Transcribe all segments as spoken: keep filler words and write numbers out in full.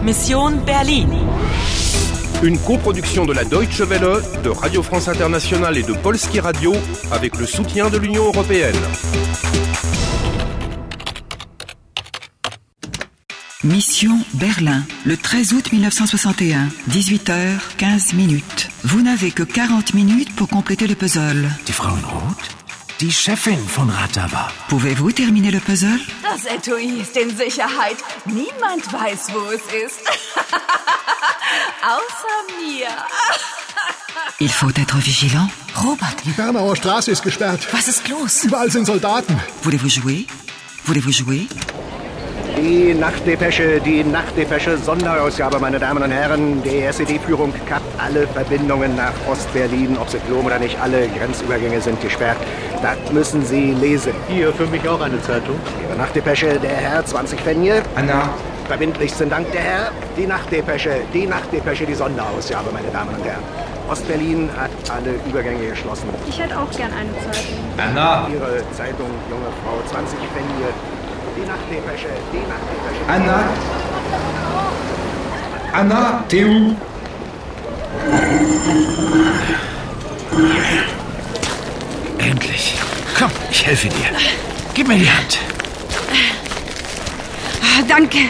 Mission Berlin. Une coproduction de la Deutsche Welle, de Radio France Internationale et de Polski Radio avec le soutien de l'Union européenne. Mission Berlin, le treize août mille neuf cent soixante et un, dix-huit heures quinze minutes. Vous n'avez que quarante minutes pour compléter le puzzle. Die Frau in Rot? Die Chefin von Ratava. Pouvez-vous terminer le puzzle? Das Etui ist in Sicherheit. Niemand weiß, wo es ist. Außer mir. Il faut être vigilant. Robert. Die Bernauer Straße ist gesperrt. Was ist los? Überall sind Soldaten. Voulez-vous jouer? Voulez-vous jouer? Die Nachtdepesche, die Nachtdepesche, Sonderausgabe, meine Damen und Herren. Die S E D-Führung kappt alle Verbindungen nach Ostberlin. Ob sie glauben oder nicht, alle Grenzübergänge sind gesperrt. Das müssen Sie lesen. Hier, für mich auch eine Zeitung. Ihre Nachtdepesche, der Herr, zwanzig Pfennige. Anna. Verbindlichsten Dank, der Herr. Die Nachtdepesche, die Nachtdepesche, die Sonderausgabe, meine Damen und Herren. Ostberlin hat alle Übergänge geschlossen. Ich hätte auch gern eine Zeitung. Anna. Ihre Zeitung, junge Frau, zwanzig Pfennige. Die Nachtdepesche, die Nachtdepesche. Anna. Anna, t'es où? Endlich. Komm, ich helfe dir. Gib mir die Hand. Danke.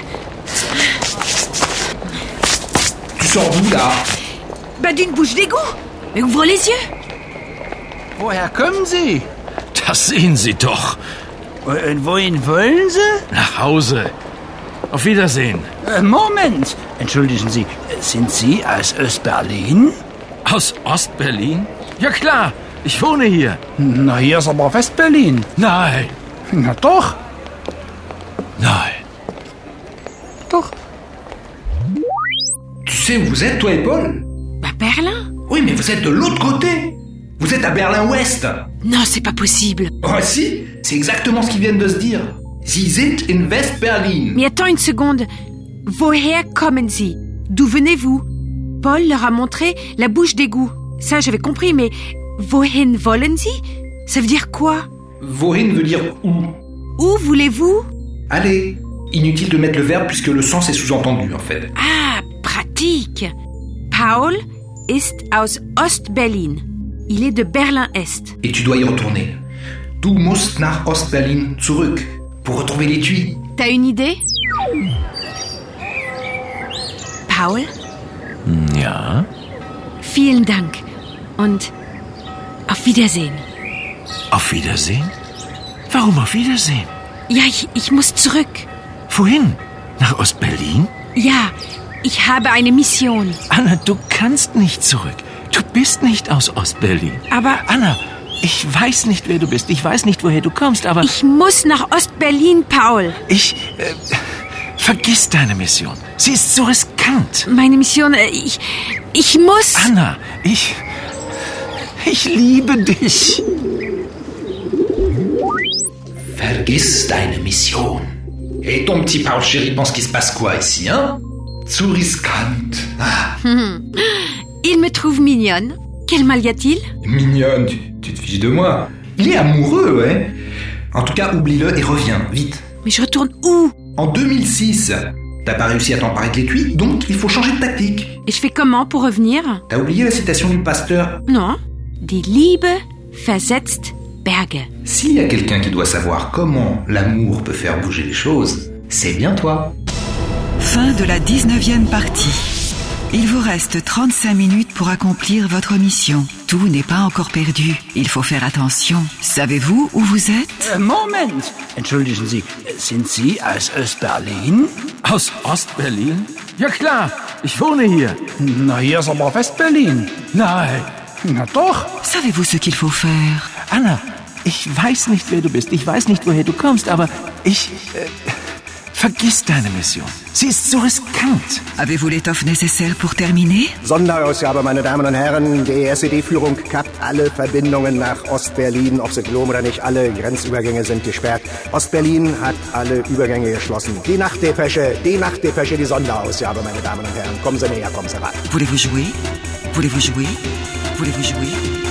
Tu sors d'où, là? Bah, d'une bouche d'égout. Mais ouvre les yeux. Woher kommen Sie? Das sehen Sie doch. Und wohin wollen Sie? Nach Hause. Auf Wiedersehen. Äh, Moment. Entschuldigen Sie, sind Sie aus Ostberlin? Aus Ostberlin? Ja klar, ich wohne hier. Na, hier ist aber Westberlin. Nein. Na doch. Nein. Doch. Tu sais où vous êtes, toi et Paul? Bah, Berlin? Oui, mais vous êtes de l'autre côté. Vous êtes à Berlin-Ouest. Non, c'est pas possible. Oh si, c'est exactement ce qu'ils viennent de se dire. Sie sind in West-Berlin. Mais attends une seconde. Woher kommen Sie? D'où venez-vous? Paul leur a montré la bouche d'égout. Ça, j'avais compris, mais wohin wollen Sie? Ça veut dire quoi? Wohin veut dire où. Où voulez-vous? Allez, inutile de mettre le verbe puisque le sens est sous-entendu, en fait. Ah, pratique. Paul ist aus Ostberlin. Il est de Berlin-Est. Et tu dois y retourner. Du musst nach Ostberlin zurück. Pour retrouver l'étui. T'as une idée? Paul? Ja? Vielen Dank. Und auf Wiedersehen. Auf Wiedersehen? Warum auf Wiedersehen? Ja, ich, ich muss zurück. Wohin? Nach Ostberlin? Ja, ich habe eine Mission. Anna, du kannst nicht zurück. Du bist nicht aus Ostberlin. Aber... Anna, ich weiß nicht, wer du bist. Ich weiß nicht, woher du kommst, aber... Ich muss nach Ostberlin, Paul. Ich... Äh, vergiss deine Mission. Sie ist so riskant. Meine Mission... Äh, ich... Ich muss... Anna, ich... Ich liebe dich. Vergiss deine Mission. Et ton petit Paul chéri pense qu'il se passe quoi ici, hein? Zu riskant. Ah. Il me trouve mignonne. Quel mal y a-t-il? Mignonne, tu, tu te fiches de moi. Il est amoureux, ouais. En tout cas, oublie-le et reviens, vite. Mais je retourne où? En deux mille six. T'as pas réussi à t'emparer de l'étui, donc il faut changer de tactique. Et je fais comment pour revenir? T'as oublié la citation du pasteur? Non. Die Liebe versetzt Berge. S'il y a quelqu'un qui doit savoir comment l'amour peut faire bouger les choses, c'est bien toi. Fin de la dix-neuvième partie. Il vous reste trente-cinq minutes pour accomplir votre mission. Tout n'est pas encore perdu. Il faut faire attention. Savez-vous où vous êtes? Äh, Moment. Entschuldigen Sie, sind Sie aus Ostberlin? Aus Ostberlin? Ja klar, ich wohne hier. Na, hier ist aber Westberlin. Nein. Na doch. Savez-vous ce qu'il faut faire? Anna, ich weiß nicht, wer du bist. Ich weiß nicht, woher du kommst, aber ich... Äh, vergiss deine Mission. Sie ist so riskant. Avez-vous l'étoffe nécessaire pour terminer? Sonderausgabe, meine Damen und Herren. Die S E D-Führung kappt alle Verbindungen nach Ostberlin. Ob sie glauben oder nicht, alle Grenzübergänge sind gesperrt. Ostberlin hat alle Übergänge geschlossen. Die Nachtdepesche, die Nachtdepesche, die Sonderausgabe, meine Damen und Herren. Kommen Sie näher, kommen Sie ran. Voulez-vous jouer? Voulez-vous jouer? Voulez-vous jouer?